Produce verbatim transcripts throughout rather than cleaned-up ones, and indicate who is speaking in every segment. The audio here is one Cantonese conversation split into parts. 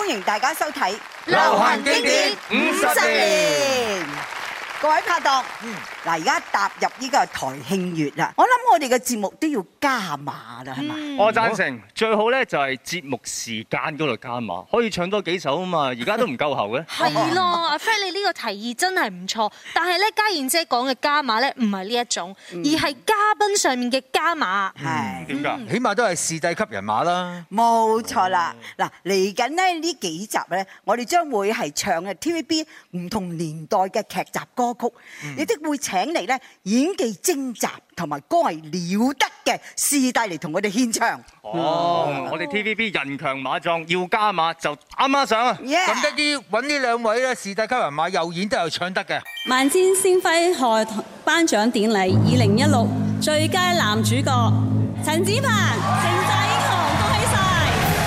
Speaker 1: 歡迎大家收睇
Speaker 2: 流行經典五十年。
Speaker 1: 各位拍檔，嗱而家踏入呢個台慶月啦，我諗我哋嘅節目都要加碼啦，係嘛？
Speaker 2: 我贊成，最好咧就係節目時間嗰度加碼，可以唱多幾首啊嘛，而家都唔夠喉嘅。
Speaker 3: 係咯，阿 Fred 你呢個提議真係唔錯，但係咧家燕姐講嘅加碼咧唔係呢一種，而係嘉賓上面嘅加碼。
Speaker 1: 係
Speaker 2: 點㗎？
Speaker 4: 起碼都係視帝級人馬啦。
Speaker 1: 冇錯啦，嗱嚟緊咧呢幾集咧，我哋將會係唱嘅 T V B 唔同年代嘅劇集歌曲，亦都會請嚟咧演技精湛同埋歌藝了得嘅視帝嚟同我哋獻唱。
Speaker 2: 哦，我哋 T V B 人強馬壯，要加碼就啱啱上啊！
Speaker 4: 咁得啲揾呢兩位咧視帝級人馬又演得又唱得嘅。
Speaker 5: 萬千星輝賀頒獎典禮二零一六最佳男主角陳展鵬，城寨英雄，恭喜晒！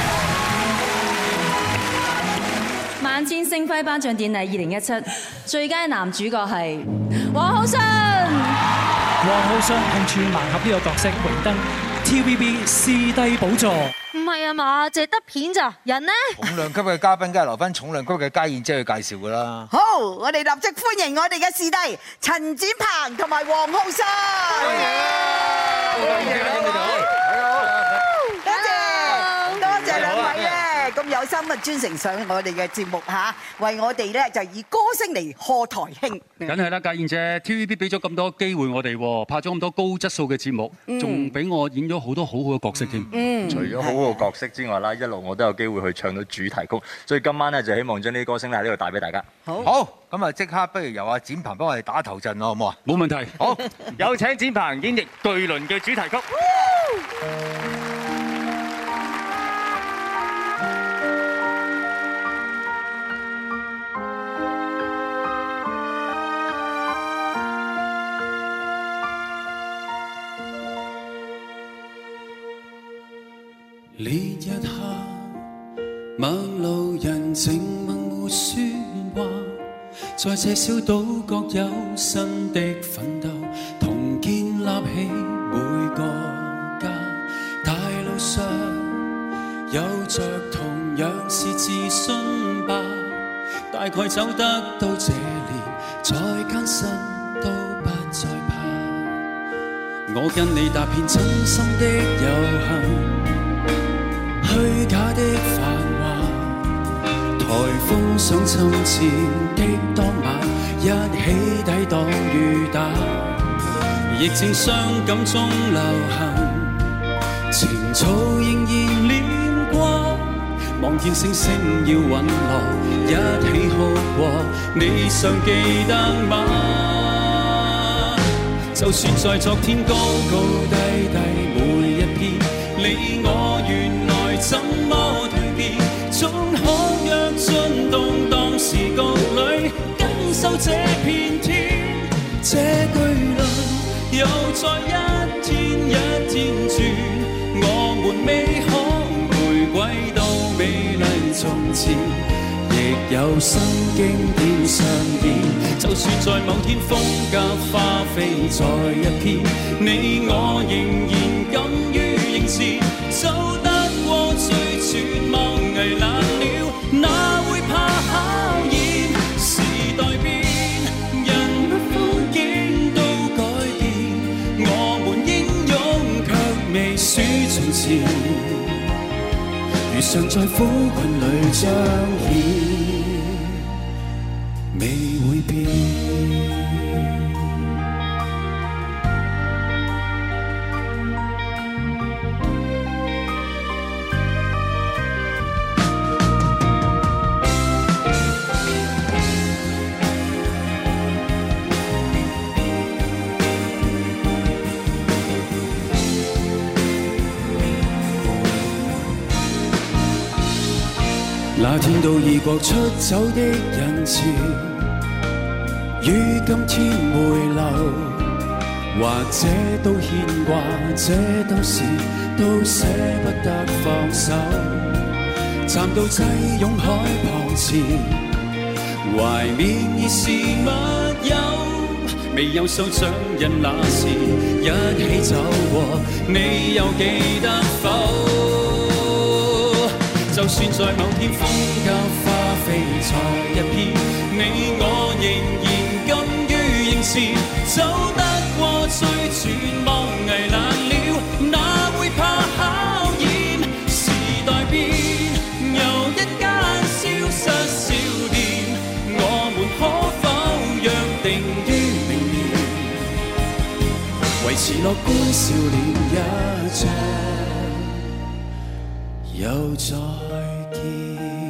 Speaker 5: 萬千星輝頒獎典禮二零一七最佳男主角係王浩信。
Speaker 6: 王浩信同串盲盒呢個角色榮登 T V B 視帝寶座。
Speaker 3: 唔係啊嘛，淨係得片咋，人呢？
Speaker 4: 重量級嘅嘉賓梗係留翻重量級嘅家燕姐去介紹㗎啦。
Speaker 1: 好，我哋立即歡迎我哋嘅視帝陳展鵬同埋王浩信。歡迎啊！歡迎兩位，多謝多謝兩位咧，咁有心啊專程上我哋嘅節目嚇，為我哋咧就以歌聲嚟賀台慶。
Speaker 7: 梗係啦，家燕姐 T V B 俾咗咁多機會我哋，拍咗咁多高質素嘅節目，仲俾我演咗好多好好嘅角色添。
Speaker 1: 嗯，
Speaker 8: 除咗好好嘅角色之外啦，一路我都有機會去唱到主題曲，所以今晚咧就希望將呢啲歌聲咧喺呢度帶俾大家。
Speaker 1: 好，
Speaker 4: 好，咁啊即刻不如由阿展鵬幫我哋打頭陣咯，好唔好啊？
Speaker 7: 冇問題。
Speaker 2: 好，有請展鵬演繹巨輪嘅主題曲。
Speaker 9: 烈日下，陌路人靜默沒説話，在這小島各有新的奮鬥，同建立起每個家。大路上有着同樣是自信吧，大概走得到這年，再艱辛都不再怕。我跟你踏遍真心的遊行，虛假的繁華，颱風想侵佔的當晚，一起抵擋雨打，疫症傷感中流行，情操仍然念掛，望見星星要隕落，一起哭過，你尚記得嗎？就算在昨天高高低低每一篇，你我原來怎麼蛻變？總可約進動盪時局裏，感受這片天。這巨輪又再一天一天轉，我們未可回歸到美麗從前，亦有新經典上演。就算在某天風格花飛在一片，你我仍然敢於迎前，走得過最絕望危難了，哪會怕考驗？時代變，人不風景都改變，我們英勇卻未輸從前，如常在苦困裏彰顯，未會變。那天到異國出走的人潮，於今天回流，或者都牽掛，這都是都捨不得放手。站到擠擁海旁前，懷緬已是密友，未有手掌印那時一起走過，你又記得否？就就算在某天風交花飛在一片，你我仍然甘於凝視，走得過最絕望危難了，哪會怕考驗？時代變，又一間消失小店，我們可否約定於明年，維持樂觀笑臉一場，又再見。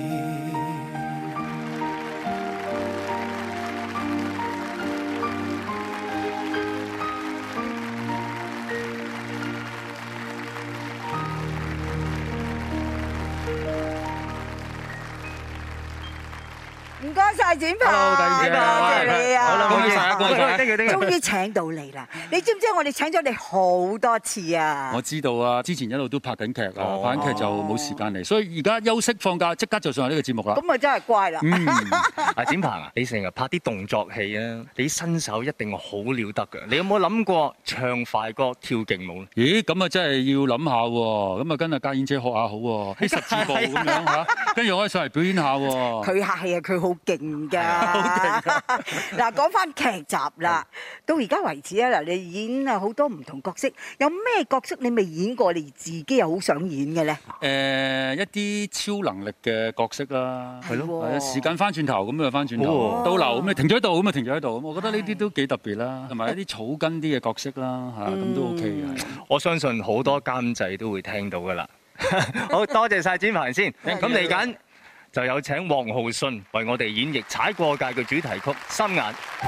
Speaker 1: 唔該曬展鵬，多謝你啊！
Speaker 2: 好啦，唔該曬，恭喜曬，thank you，thank you。
Speaker 1: 終於請到你啦！你知唔知我哋請咗你好多次啊？
Speaker 7: 我知道啊，之前一路都拍緊劇啊，
Speaker 2: 哦
Speaker 7: 拍緊劇就冇時間嚟，所以而家休息放假即刻就上嚟呢個節目啦。
Speaker 1: 咁啊真係乖啦！
Speaker 7: 嗯，
Speaker 2: 阿展鵬啊，你成日拍啲動作戲啊，你身手一定好了得㗎。你有冇諗過唱快歌、跳勁舞咧？
Speaker 7: 咦，咁啊真係要諗下喎，咁啊跟阿家燕姐學下好喎，啲十字步咁樣嚇，跟住我可以上嚟表演下喎。
Speaker 1: 佢客氣啊，佢好勁㗎。
Speaker 7: 好勁㗎！
Speaker 1: 嗱，講翻劇集啦，到而家為止啊，嗱，你演啊好多唔同角色，有咩角色你未演過，你自己又好想演嘅咧？
Speaker 7: 誒，一啲超能力嘅角色啦，
Speaker 1: 係咯，
Speaker 7: 係啊，時間翻轉頭咁就翻轉頭，倒流咁你停咗喺度咁啊停咗喺度，咁我覺得呢啲都幾特別啦，同埋一啲草根啲嘅角色啦嚇，咁都 OK 嘅。
Speaker 2: 我相信好多監製都會聽到㗎啦。好多謝曬展鵬先，咁嚟緊就有請王浩信為我哋演繹《踩過界》嘅主題曲《心眼》。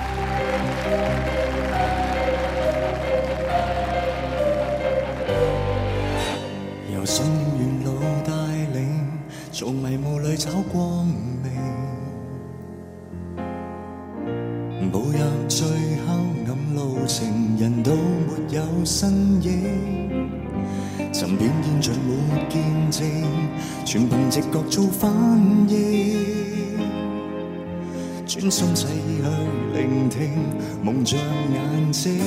Speaker 9: 由信念沿路帶領，從迷霧裏找光明，步入最黑暗路程，人都沒有身影，曾表現像沒見證，全憑直覺做反應，專心細意去聆聽夢像眼睛。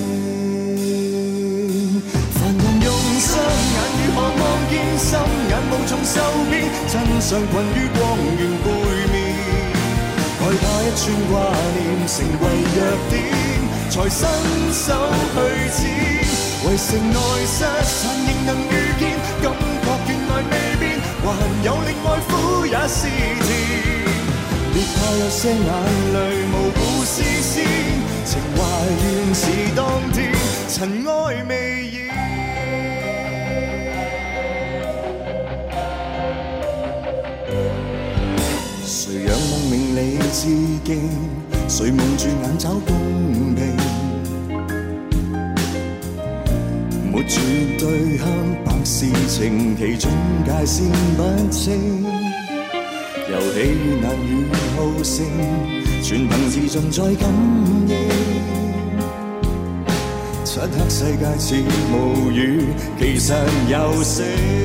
Speaker 9: 凡人用雙眼如何望見心眼無從受騙，真相困於光源背面，害怕一串掛念成為弱點，才伸手去剪。為城內失散仍能遇見，感覺原來未變，還有另外苦也是甜。別怕有些眼淚模糊視線，情懷原是當天，塵埃未現。誰仰望名利致敬，誰蒙住眼找公平，沒絕對黑白事情，其中界線不清，遊戲與難與好勝，全憑自盡在感應，漆黑世界似無語，其實有聲。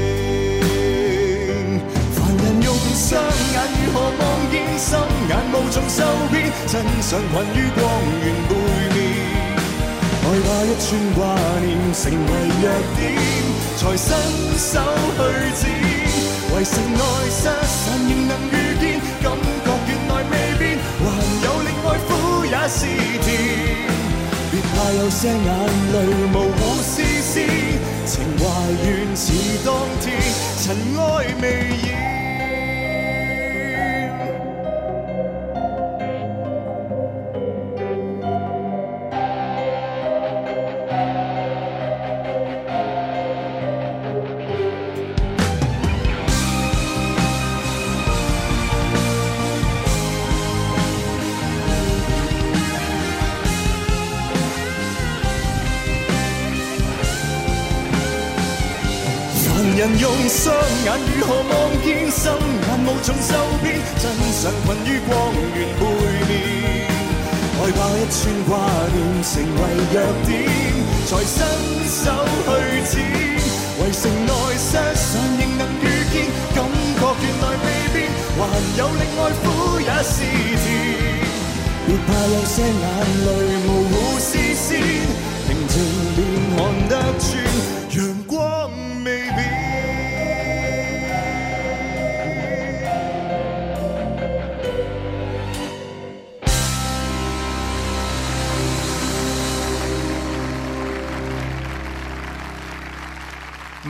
Speaker 9: 凡人用雙眼如何望見心眼無從受騙，真相困於光源背面，害怕一串掛念成為弱點，才伸手去剪。為城內失散仍能遇見，感覺原來未變，還有另外苦也是甜。別怕有些眼淚模糊視線，情懷原似當天，塵埃未現。人用雙眼如何望見心眼無從受騙，真相困於光源背面，害怕一串掛念成為弱點，才伸手去剪。為城內失散仍能遇見，感覺原來未變，還有另外苦也是甜。別怕有些眼淚模糊視線，平靜便看得穿，陽光未變。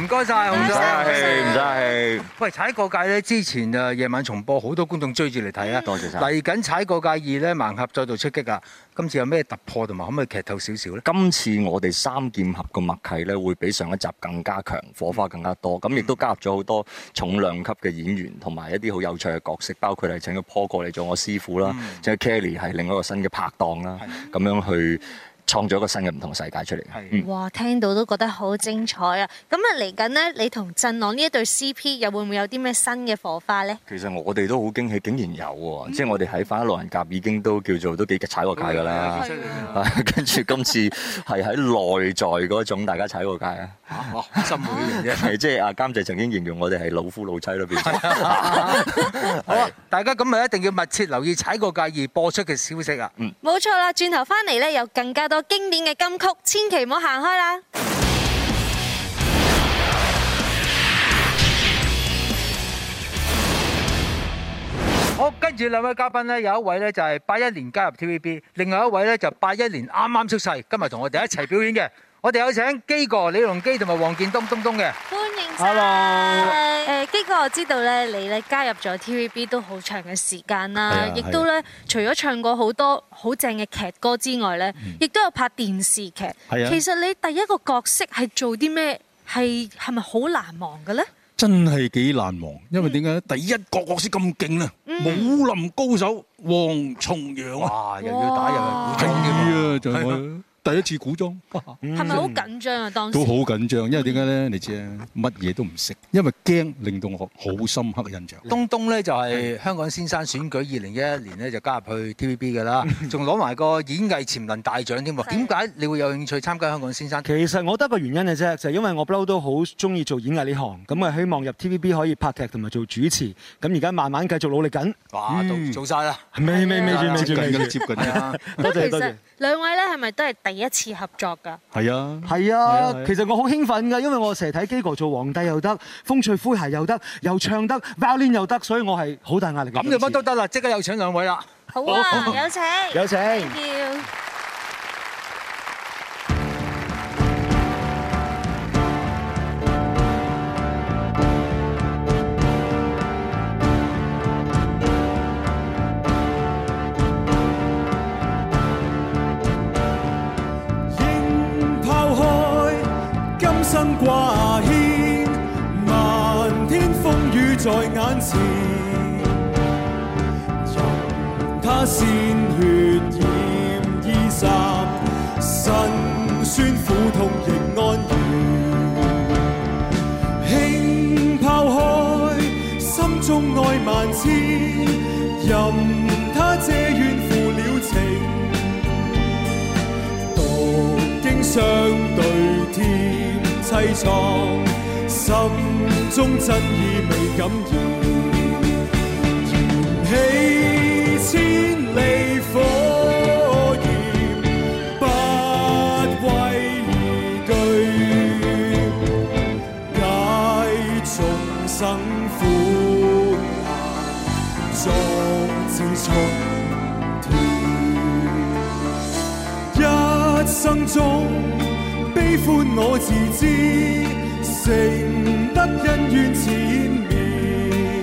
Speaker 4: 唔該晒，
Speaker 8: 唔使客氣，唔使客氣。
Speaker 4: 喂，踩過界咧，之前誒夜晚重播，好多觀眾追住嚟睇啊！
Speaker 8: 多謝晒。
Speaker 4: 嚟緊踩過界二咧，盲俠再度出擊啊！今次有咩突破同埋可唔可以劇透少少咧？
Speaker 8: 今次我哋三劍俠個默契咧，會比上一集更加強，火花更加多。咁亦都加入咗好多重量級嘅演員，同埋一啲好有趣嘅角色，包括係請咗 Paul 過嚟做我師傅啦，即係 Kelly 係另一個新嘅拍檔啦，咁樣去創造一個新嘅唔同世界出嚟。
Speaker 3: 嗯、哇！聽到都覺得好精彩啊！咁啊嚟緊呢，你同振朗呢一對 C P 又會唔會有啲咩新嘅火花呢？
Speaker 8: 其實我哋都好驚喜，竟然有喎！嗯、即係我哋喺《返老人甲》已經都叫做都幾踩過界㗎啦。跟住今次係喺內在嗰種大家踩過界啊！
Speaker 4: 哦，心會嘅啫。
Speaker 8: 係即係阿監製曾經形容我哋係老夫老妻咯，變咗。
Speaker 4: 好啊！大家咁啊一定要密切留意踩過界二播出嘅消息啊！
Speaker 3: 嗯，冇錯啦，轉頭翻嚟咧有更加多經典嘅金曲，千祈唔好行開啦！
Speaker 4: 好，跟住兩位嘉賓咧，有一位咧就係八一年加入 T V B， 另外一位咧就八一年啱啱出世，今日同我哋一齊表演嘅。我哋有請基哥李龍基同埋黃建東東東嘅。
Speaker 3: 歡迎晒！誒基哥，我知道咧，你咧加入咗 T V B 都好長嘅時間啦，亦都咧除咗唱過好多好正嘅劇歌之外咧，亦都有拍電視劇。係啊。其實你第一個角色係做啲咩？係係咪好難忘嘅咧？
Speaker 10: 真係幾難忘，因為點解咧？第一個角色咁勁啊！武林高手黃重陽啊！
Speaker 4: 哇！又要打又係古裝
Speaker 10: 嘅啊！就係我第一次古裝，
Speaker 3: 係咪好緊張啊？當時
Speaker 10: 都好緊張，因為點解咧？你知啊，乜嘢都唔識，因為驚令到我好深刻嘅印象。
Speaker 4: 東東咧就係香港先生選舉二零一一年咧就加入去 T V B 嘅啦，仲攞埋個演藝潛能大獎添喎。點解你會有興趣參加香港先生？
Speaker 11: 其實我得個原因嘅啫，就係因為我不嬲都好中意做演藝呢行，咁啊希望入 T V B 可以拍劇同埋做主持。咁而家慢慢繼續努力緊。
Speaker 4: 哇！做晒啦，
Speaker 11: 未未未住未住未住，
Speaker 10: 接近啦。
Speaker 11: 多謝多謝。
Speaker 3: 兩位咧係咪都係第一次合作㗎？
Speaker 10: 係啊，
Speaker 11: 係啊，其實我好興奮㗎，因為我成日睇基哥做皇帝又得，風趣詼諧又得，又唱得 violin 又得，所以我係好大壓力嘅。
Speaker 4: 咁就乜都得啦，即刻有請兩位啦。
Speaker 3: 好啊，有請，
Speaker 11: 有請。
Speaker 3: Thank you。
Speaker 9: 生掛牽，漫天風雨在眼前，任他鮮血染衣衫，辛酸苦痛亦安然。輕拋開心中愛萬千，任他這怨負了情，獨經相對天。凄愴，心中真意未感染，燃起千里火焰，不畏懼，解眾生苦難，壯志衝天，一生中悲歡我自知，承得恩怨纏綿，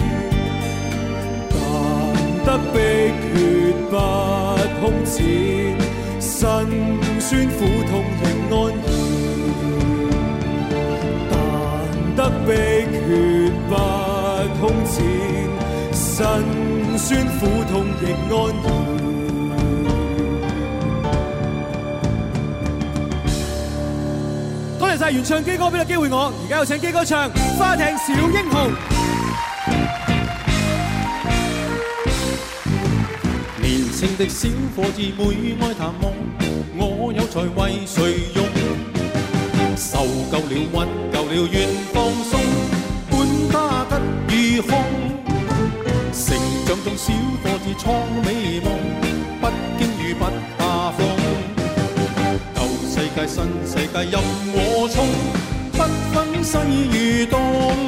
Speaker 9: 但得碧血不空前，辛酸苦痛亦安然，但得碧血不空前，辛酸苦痛亦安然。多謝晒原唱基哥俾個機會我，而家有請基哥唱《花艇小英雄》。
Speaker 12: 年輕的小伙子每愛談夢，我有才為誰用？受夠了屈夠了願放鬆，管他吉與凶。成長中小伙子創美夢，不經雨不怕風。世界新世界任我衝，不分西與東。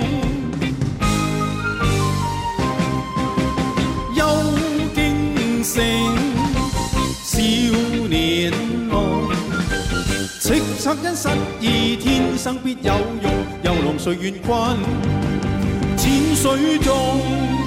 Speaker 12: 憂驚醒少年夢，叱咤惻因失意，天生必有用，遊龍誰願困淺水中。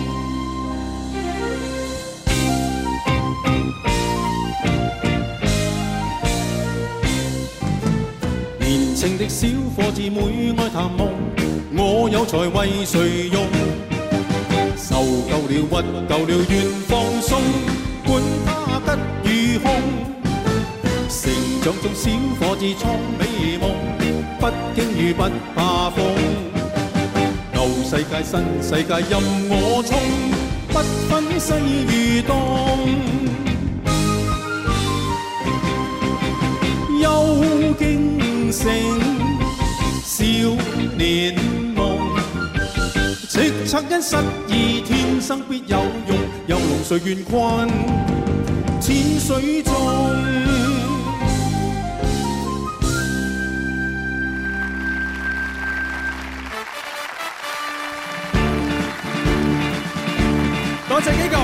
Speaker 12: 年青的小伙子每愛談夢，我有才為誰用？受夠了屈夠了願放鬆，管他吉與凶。成長中小伙子創美夢，不驚雨不怕風。舊世界新世界任我衝，不分西與東。幽驚醒少年夢，叱咤因失意，天生必有用，遊龍誰願困淺水中。多謝幾個。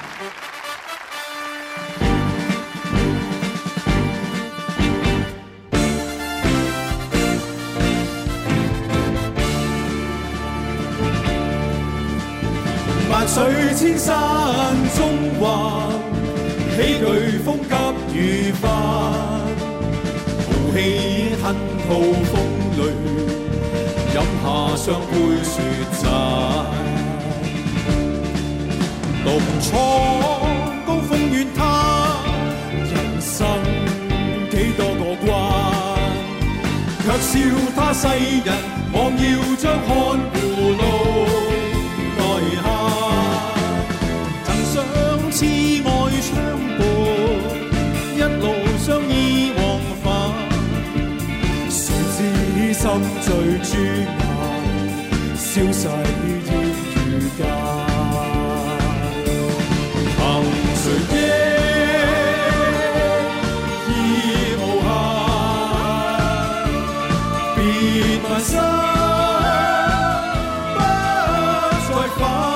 Speaker 12: 萬水千山中橫，喜懼風急雨翻，豪氣吞吐風裏，飲下雙杯雪盞。獨闖高峰遠灘，人生幾多個關，卻笑他世人妄要將看護路內限。曾相痴愛相伴，一路相依往返，誰知心醉朱顏，消逝煙雨間。誰憶已無限，別問心不再返。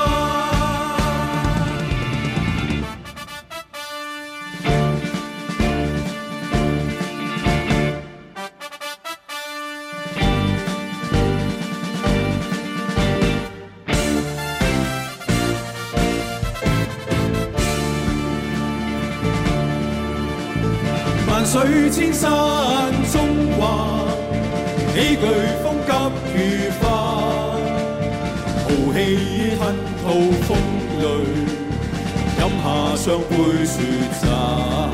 Speaker 12: 萬水千山中橫，喜懼風急雨翻，豪氣吞吐風淚，飲下雙杯雪盞。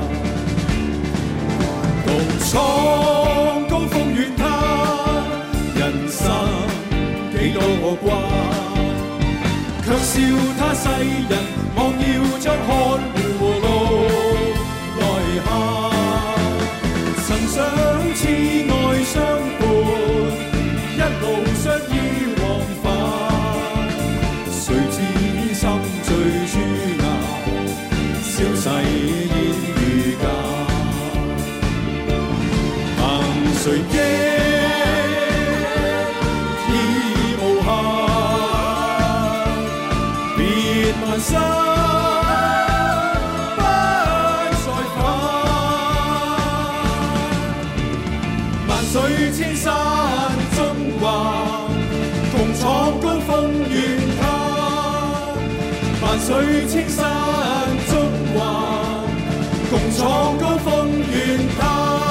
Speaker 12: 獨闖高峰遠灘，人生幾多個關，卻笑他世人妄要將看護路內限。曾相痴愛相伴，一路相依往返，誰知心醉朱顏，消逝煙雨間。憑誰憶已無限，別問心水千山中橫，共闖高峰遠灘。萬水千山中橫，共闖高峰遠灘。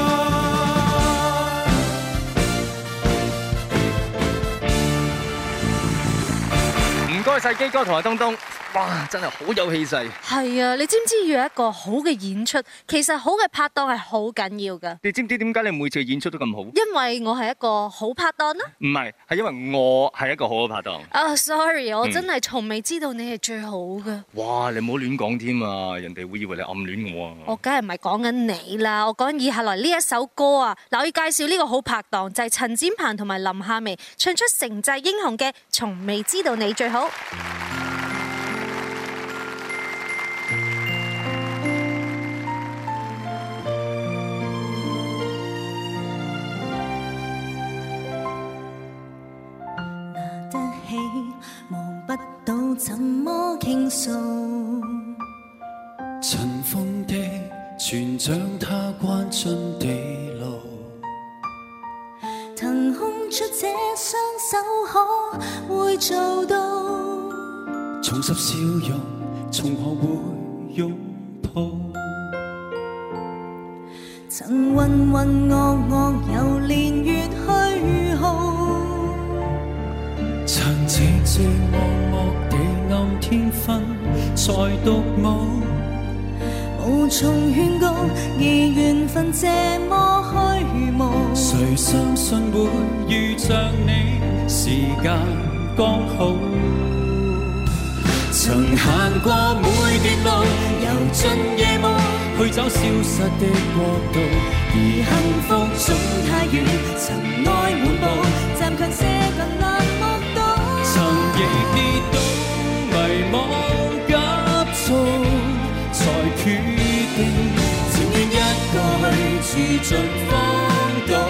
Speaker 2: 唔該晒基哥同埋東東。哇！真係好有氣勢。
Speaker 3: 係啊，你知唔知要有一個好嘅演出，其實好嘅拍檔係好緊要㗎。
Speaker 2: 你知唔知點解你每次演出都咁好？
Speaker 3: 因為我係一個好拍檔啦。
Speaker 2: 唔係，係因為我係一個好嘅拍檔。
Speaker 3: 啊、oh, ，sorry，我真係從未知道你係最好嘅。
Speaker 2: 哇！你唔好亂講添啊，人哋會以為你暗戀我啊。
Speaker 3: 我梗係唔係講緊你啦，我講緊以下來呢一首歌啊。嗱，我要介紹呢個好拍檔就係陳展鵬同埋林夏薇唱出城寨英雄嘅《從未知道你最好》。
Speaker 13: 怎麼傾訴？
Speaker 9: 塵封的船長他關進地牢，
Speaker 13: 手可會做到？
Speaker 9: 重拾笑容，從何會擁抱？
Speaker 13: 曾渾渾噩噩，由年月虛耗。
Speaker 9: 曾寂寂寞寞地暗天分，才獨舞。
Speaker 13: 無從勸告，而緣分這麼虛無。
Speaker 9: 誰相信會遇着你，時間剛好。曾行過每段路，遊進夜幕，去找消失的國度。而幸福總太遠，塵埃滿布，暫卻些近難目睹。曾亦跌倒迷惘急躁，才決定情願一個去住盡荒島。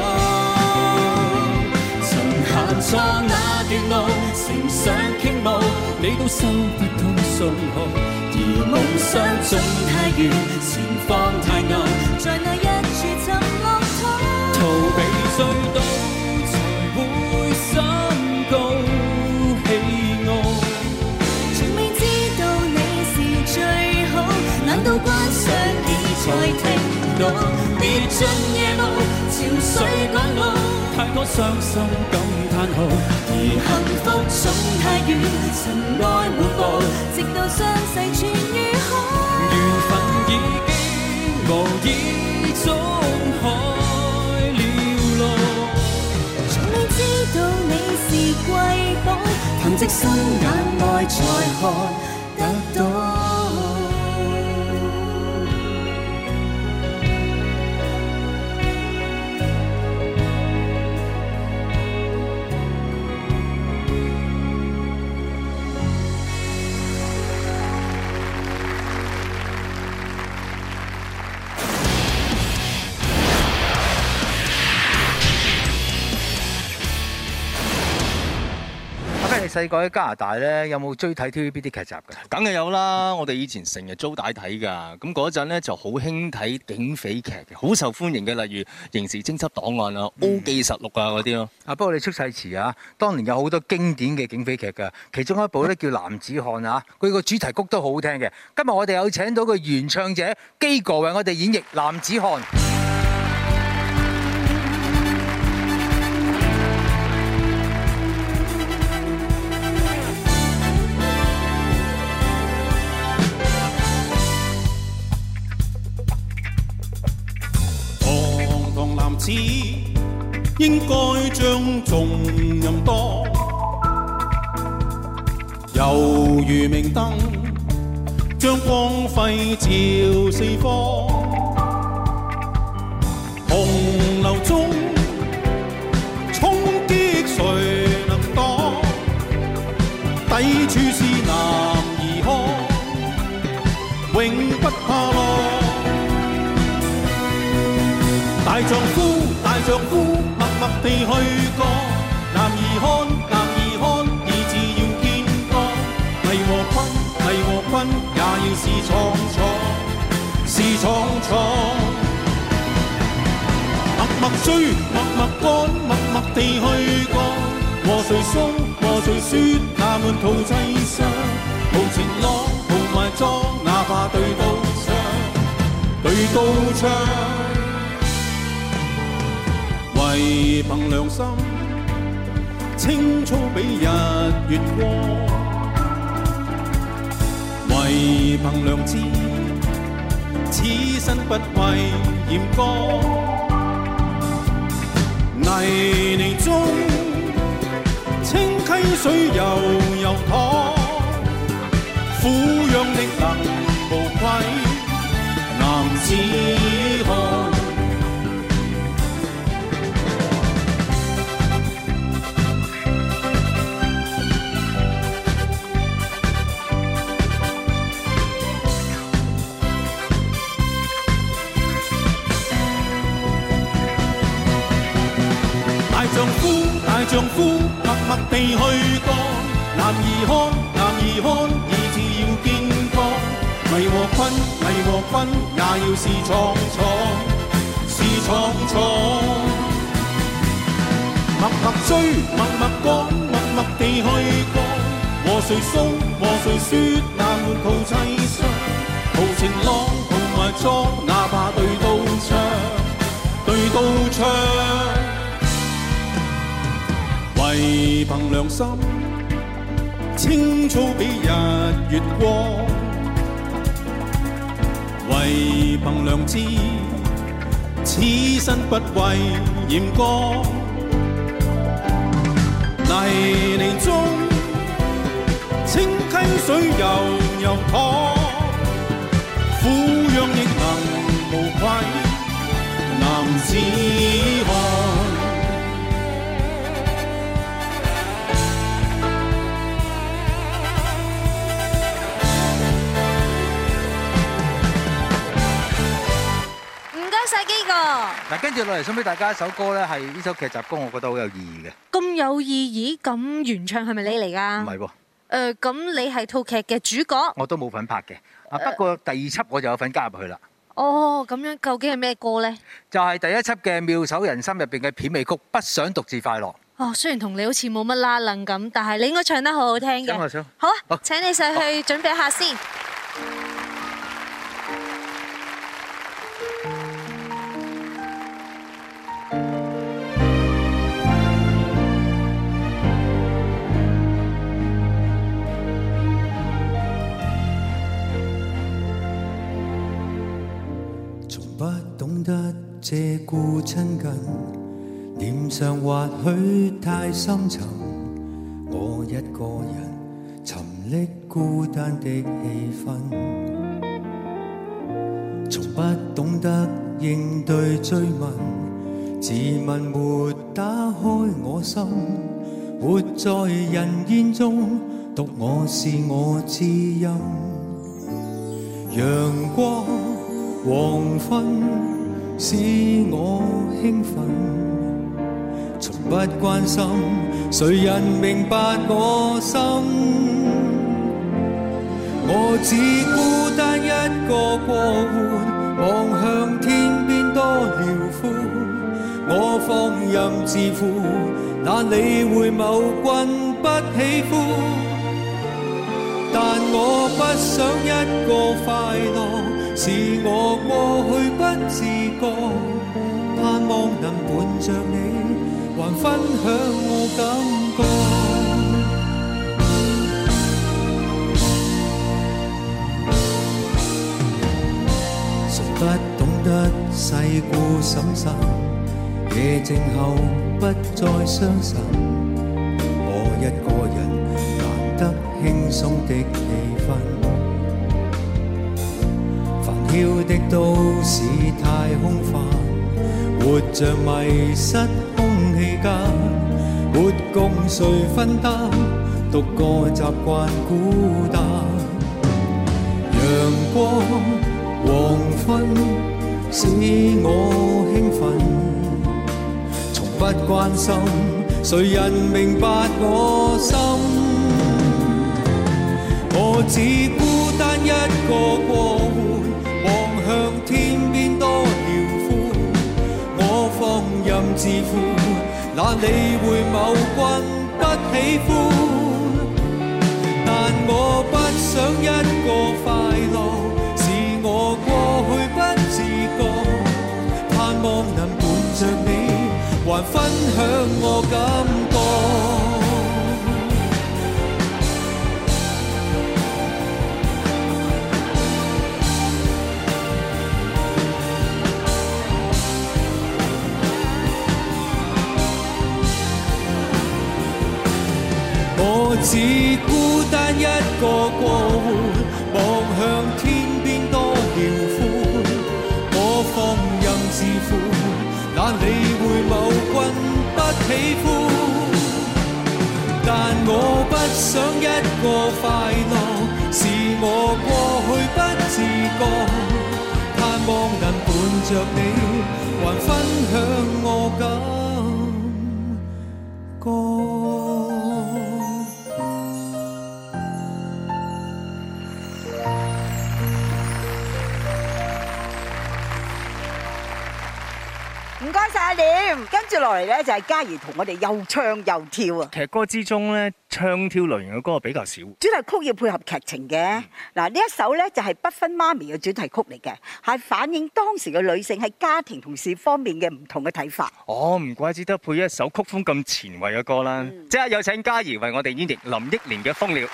Speaker 9: 曾行錯那段路，乘上傾慕，你都收不到信號。而夢想總太遠，前方太暗，
Speaker 13: 在那一處尋樂土，
Speaker 9: 逃避隧道才會心高氣傲。
Speaker 13: 從未知道你是最好，難道關上你才聽到？跌進夜路，潮水趕路，
Speaker 9: 太多傷心感嘆號。
Speaker 13: 而幸福總太遠，塵埃滿布，直到傷勢痊愈好。
Speaker 9: 緣分已經無意中開了路，
Speaker 13: 從未知道你是瑰寶，憑藉心眼內才看得到。
Speaker 4: 你細個喺加拿大咧，有冇追睇 T V B 啲劇集㗎？
Speaker 2: 梗係有啦，我哋以前成日租帶睇㗎。咁嗰陣咧就好興睇警匪劇嘅，好受歡迎嘅，例如《刑事偵緝檔案》啊、《O 記實錄》啊嗰啲咯。
Speaker 4: 啊，不過你出世遲啊，當年有好多經典嘅警匪劇㗎，其中一部咧叫《男子漢》啊，佢個主題曲都好好聽嘅。今日我哋有請到個原唱者基哥為我哋演繹《男子漢》。
Speaker 12: 男子應該將重任多，猶如明燈，將光輝照四方。洪流中衝擊誰能擋？抵處是男兒漢，永不怕浪。大丈夫，大丈夫，默默地去幹。男兒漢，男兒漢，意志要堅剛。危和困，危和困，也要是闖闖，是闖闖。默默追，默默幹，默默地去幹。和誰訴，和誰説，那滿途凄傷。無情浪，無埋葬，哪怕對刀槍，對刀槍。為憑良心，青粗比日月光；為憑良知，此身不畏嚴剛。泥濘中，清溪水悠悠淌，撫養力能無愧，男子漢。丈夫，大丈夫，默默地去幹。男兒漢，男兒漢，意志要堅剛。危和困，危和困，也要是闖闖，是闖闖。默默默追，默默講，默默地去過。和誰訴，和誰說，那滿肚凄傷。豪情浪，豪埋葬，哪怕對刀槍，對刀槍。唯憑良心，青草比日月光。唯憑良知，此身不為艷光。泥濘中，清溪水悠悠淌，俯仰亦能無愧，男子漢。
Speaker 4: 嗱，跟住落嚟送俾大家一首歌咧，係呢首劇集歌，我覺得好有意義嘅。
Speaker 3: 咁有意義，咁原唱係咪你嚟㗎？
Speaker 4: 唔係喎。
Speaker 3: 誒，咁你係套劇嘅主角？
Speaker 4: 我都冇份拍嘅。啊，不過第二輯我就有份加入去啦。
Speaker 3: 哦，咁樣究竟係咩歌咧？
Speaker 4: 就係第一輯嘅《妙手仁心》入邊嘅片尾曲《不想獨自快樂》。
Speaker 3: 哦，雖然同你好似冇乜拉楞咁，但係你應該唱得好好聽嘅。
Speaker 4: 我想。
Speaker 3: 好啊，請你上去準備下先。
Speaker 9: 借故親近，臉上或許太深沉，我一個人沉溺孤單的氣氛，從不懂得應對追問，自問沒打開我心，活在人煙中，獨我是我知音，陽光黃昏使我興奮，從不關心誰人明白我心，我只孤單一個過活，望向天邊多遼闊，我放任自負，難理會某君不喜歡，但我不想一個快樂，是我過去不自覺，盼望能伴着你，還分享我感覺。誰不懂得世故審慎，夜靜後不再傷神，我一個人難得輕鬆的氣氛。飄的都市太空泛，活着迷失空氣間，沒共誰分擔，獨個習慣孤單。陽光黃昏使我興奮，從不關心誰人明白我心，我只孤單一個過活，望向天邊多遼闊，我放任自負，哪理會某君不喜歡，但我不想一個快樂，是我過去不自覺，盼望能伴着你，還分享我感覺。我只孤單一個過活，望向天邊多遼闊，我放任自負，哪理會某君不喜歡，但我不想一個快樂，是我過去不自覺，盼望能伴着你，還分享我感覺。
Speaker 1: 該晒阿廉。跟住落嚟咧就係嘉怡同我哋又唱又跳啊！
Speaker 2: 劇歌之中咧，唱跳類型嘅歌比較少。
Speaker 1: 主題曲要配合劇情嘅。嗱，呢一首咧就係不分媽咪嘅主題曲嚟嘅，係反映當時嘅女性喺家庭同事方面嘅唔同嘅睇法。
Speaker 2: 哦，唔怪之得配一首曲風咁前衛嘅歌啦！即刻有請嘉怡為我哋演繹林憶蓮嘅《瘋了》。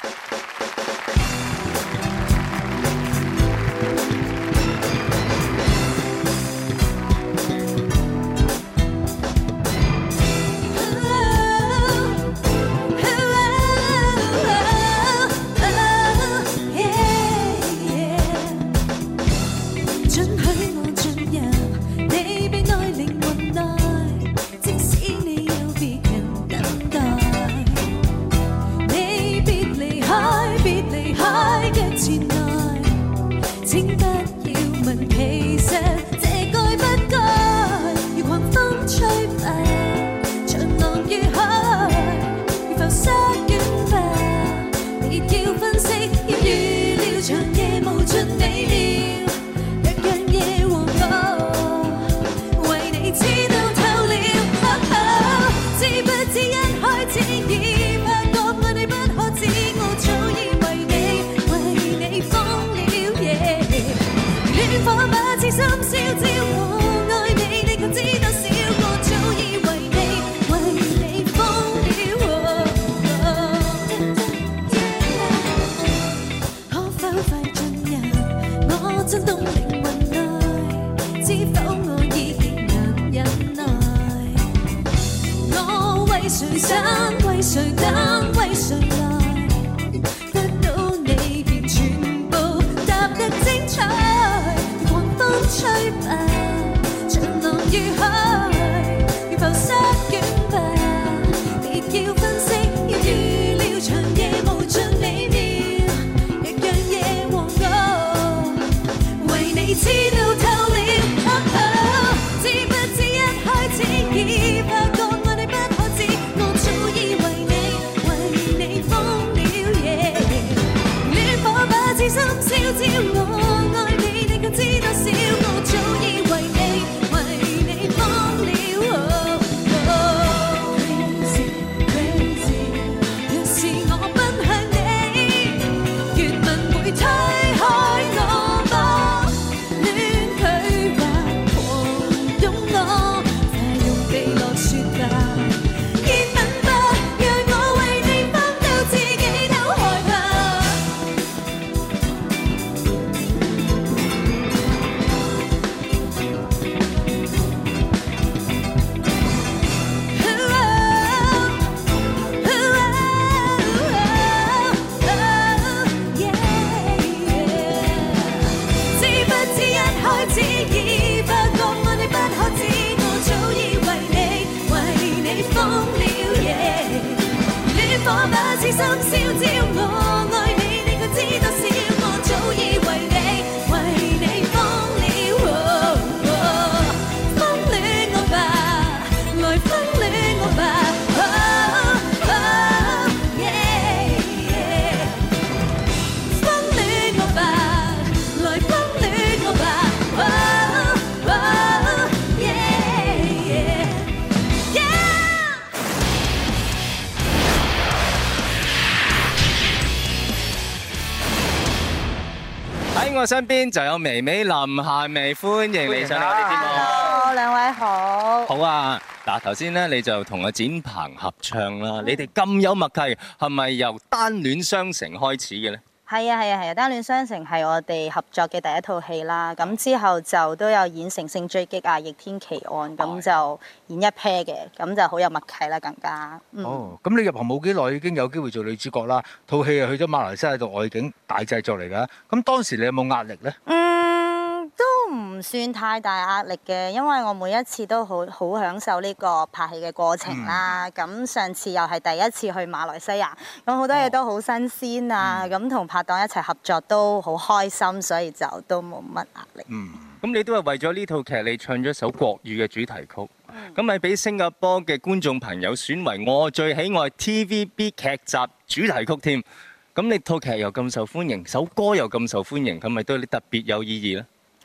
Speaker 2: 我身邊就有微微林夏薇，歡迎你上嚟我哋節目。
Speaker 14: Hello，兩位好。
Speaker 2: 好啊，嗱頭先咧你就同阿展鵬合唱啦，你哋咁有默契，係咪由單戀雙城開始嘅咧？
Speaker 14: 係啊係啊係啊，單戀雙城係我哋合作嘅第一套戲啦。咁之後就都有演《乘勝追擊》啊，《逆天奇案》，咁就演一 pair 嘅，咁就好有默契啦，更加。嗯、
Speaker 4: 哦，咁你入行冇幾耐已經有機會做女主角啦，套戲又去咗馬來西亞度外景大製作嚟㗎。咁當時你有冇壓力咧？
Speaker 14: 嗯，都唔算太大壓力嘅，因為我每一次都好好享受呢個拍戲嘅過程啦。咁、嗯、上次又係第一次去馬來西亞，咁好多嘢都好新鮮啊。咁同、嗯、拍檔一齊合作都好開心，所以就都冇乜壓力。
Speaker 2: 嗯，咁你都係為咗呢套劇，你唱咗首國語嘅主題曲，咁咪俾新加坡嘅觀眾朋友選為我最喜愛 T V B 劇集主題曲添。咁你套劇又咁受歡迎，首歌又咁受歡迎，咁咪對你特別有意義咧？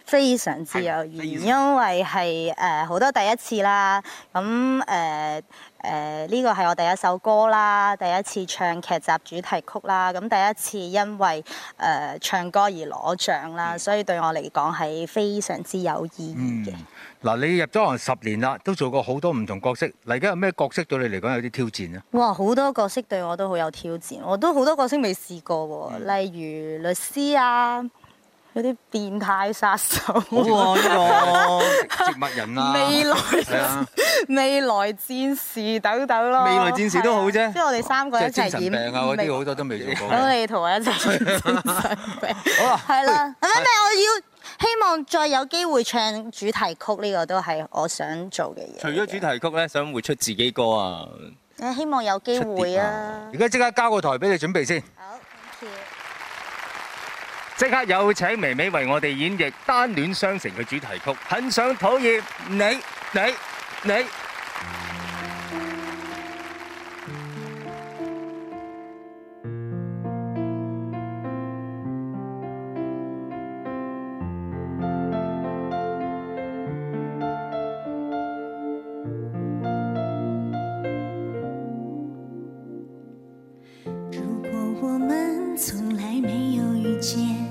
Speaker 14: 非常之有意義，因為係誒好多第一次啦。咁誒誒呢個係我第一首歌啦，第一次唱劇集主題曲啦。咁第一次因為誒、呃、唱歌而攞獎啦，所以對我嚟講係非常之有意義嘅。
Speaker 4: 嗱、嗯，你入咗行十年啦，都做過好多唔同角色。嚟緊有咩角色對你嚟講有啲挑戰啊？哇，
Speaker 14: 好多角色對我都好有挑戰，我都好多角色未試過喎，嗯、例如律師啊。嗰啲變態殺手，好
Speaker 4: 喎呢個植物人啊，
Speaker 14: 未來係啊，未來戰士等等咯，
Speaker 4: 未來戰士都好啫，
Speaker 14: 即係我哋三個一齊演。
Speaker 4: 精神病啊嗰啲好多都未做過。
Speaker 14: 我哋同我一齊演精神病。好啊，係啦，咁咩我要希望再有機會唱主題曲，呢個都係我想做嘅嘢。
Speaker 2: 除咗主題曲咧，想會出自己歌啊？
Speaker 14: 誒，希望有機會啊！
Speaker 4: 而家即刻交個台俾你準備先。
Speaker 14: 好 ，thank you。
Speaker 2: 即刻有請微微為我哋演繹《單戀雙城》嘅主題曲，很想討厭你你你。
Speaker 13: 如果我們從來沒有遇見，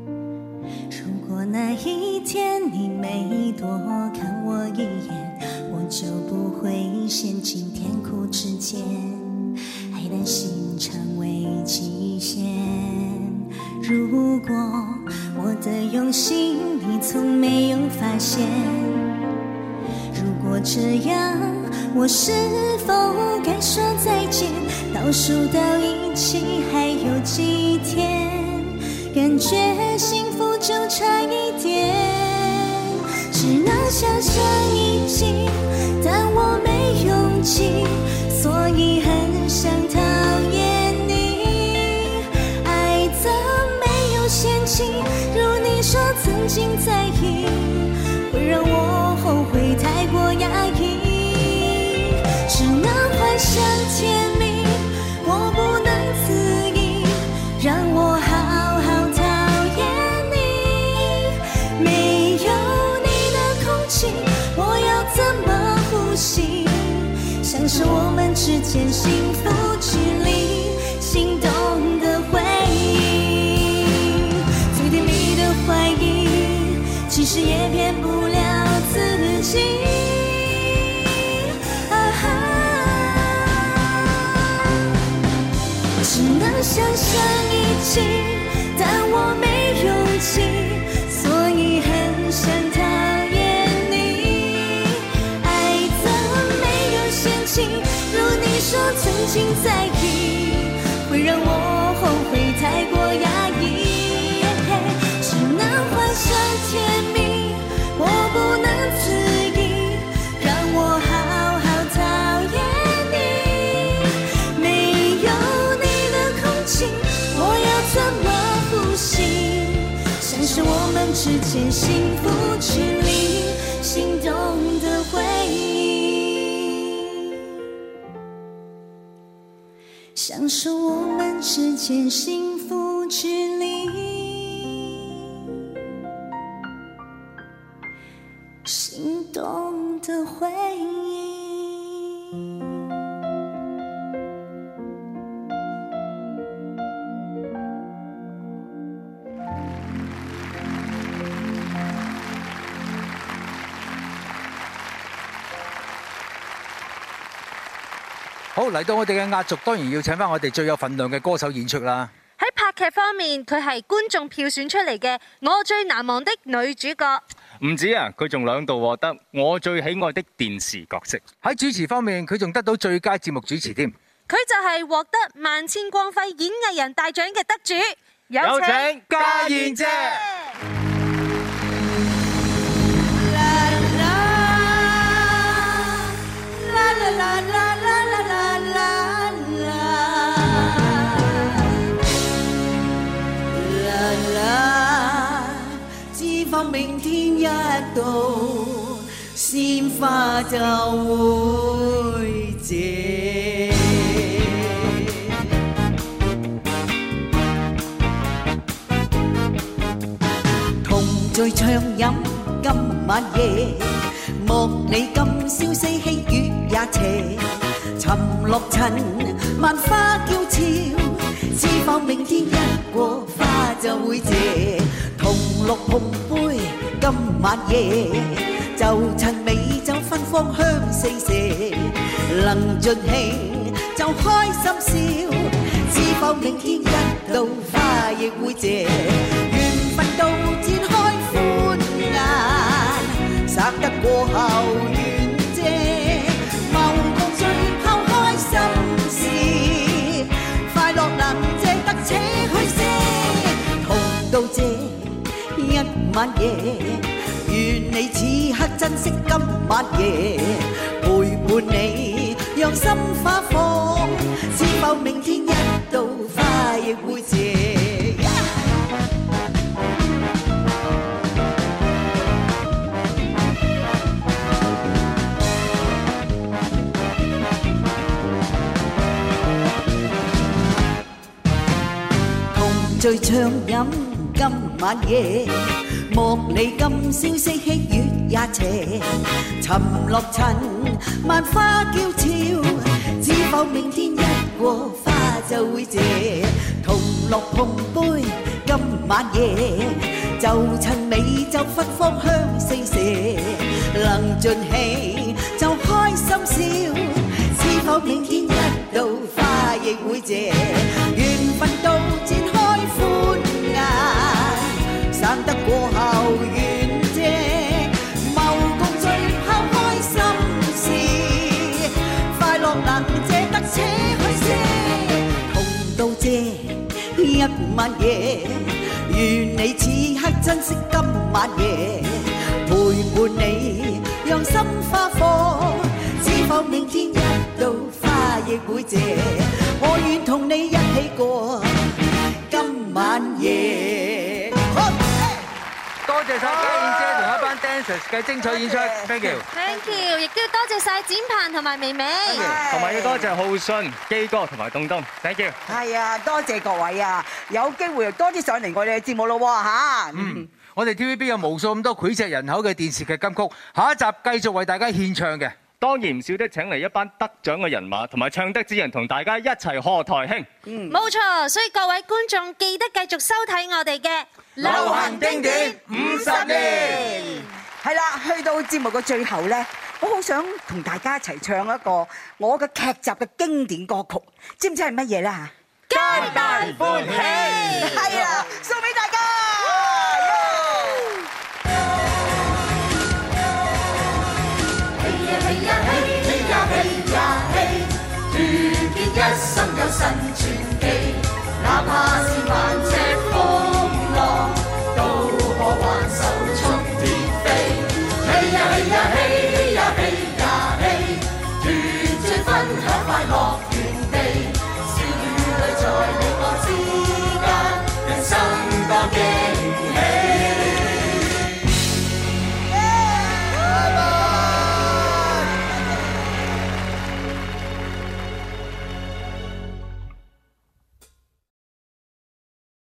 Speaker 13: 那一天你沒多看我一眼，我就不會陷進甜苦之間，愛擔心成為極限。如果我的用心你從沒有發現，如果這樣我是否該說再見？倒數到一起還有幾天，感覺幸福就差一點，只能想象一起，但我沒勇氣，所以很想討厭你。愛的沒有限期，如你說曾經在意，會讓我後悔太過壓抑，只能幻想甜蜜，我不能自已，讓我好好我要怎麼呼吸？享受我們之間幸福距離，心動的回憶，最甜蜜的懷疑，其實也騙不了自己。啊哈，只能想象一起，但我沒勇氣，所以很想逃。如你說曾經在意，會讓我後悔太過壓抑，只能幻想甜蜜，我不能自已，讓我好好討厭你。沒有你的空氣，我要怎麼呼吸？享受我們之間幸福距離，心動的回憶。享受我們之間幸福距離，心動的回憶。
Speaker 4: 好，嚟到我哋嘅壓軸，當然要請翻我哋最有份量嘅歌手演出啦。
Speaker 3: 喺拍劇方面，佢係觀眾票選出嚟嘅我最難忘的女主角。
Speaker 2: 唔止啊，佢仲兩度獲得我最喜愛的電視角色。
Speaker 4: 喺主持方面，佢仲得到最佳節目主持添。
Speaker 3: 佢就係獲得萬千光輝演藝人大獎嘅得主，
Speaker 2: 有請家燕姐。
Speaker 15: 明天一到，鮮花就會謝。童聚暢飲今晚夜，莫你今宵四喜月也斜，沉落塵萬花嬌俏，只盼明天一過花就會謝，同樂碰杯今晚夜，就趁美酒芬芳香四射，能盡興就開心笑，只盼明天一到花亦會謝，緣分到展開歡顏，散得過後緣謝，謀共聚拋開心事，快樂能借得且去些，同到這一晚夜，願你此刻珍惜今晚夜，陪伴你讓心花放，只盼明天一到花亦會謝。同聚暢飲今晚夜，莫你今宵四喜月也斜，沉落塵萬花嬌俏，只盼明天一過花就會謝，同樂碰杯今晚夜，就趁美酒芬芳香四射，能盡興就開心笑，只盼明天一到花亦會謝，緣分到展開歡顏，散得過後緣謝，謀共聚拋開心事，快樂能借得且去些，同到這一晚夜，願你此刻珍惜今晚夜，陪伴你讓心花放，只盼明天一到花亦會謝，我願同你一起過今晚夜。
Speaker 4: 多謝晒家燕姐同一班 dancers 嘅精彩演出 ，thank you。Thank
Speaker 3: you， 亦都要多謝晒展鵬同埋微微，
Speaker 2: 同埋要多謝浩信、基哥同埋東東 ，thank you。
Speaker 1: 係啊，多謝各位啊，有機會多啲上嚟我哋嘅節目咯喎嚇。
Speaker 4: 嗯，我哋 T V B 有無數咁多膾炙人口嘅電視劇金曲，下一集繼續為大家獻唱嘅。
Speaker 2: 當然唔少得請嚟一班得獎嘅人馬同埋唱得之人，同大家一齊賀台慶。
Speaker 3: 嗯，冇錯，所以各位觀眾記得繼續收睇我哋嘅
Speaker 1: 流行經典五十年。係啦，去到節目嘅最後咧，我好想同大家一齊唱一個我嘅劇集嘅經典歌曲，知唔知係乜嘢咧嚇？
Speaker 15: 皆大歡喜。
Speaker 1: 係啦，送俾大家。
Speaker 15: 團結一心有新傳奇，哪怕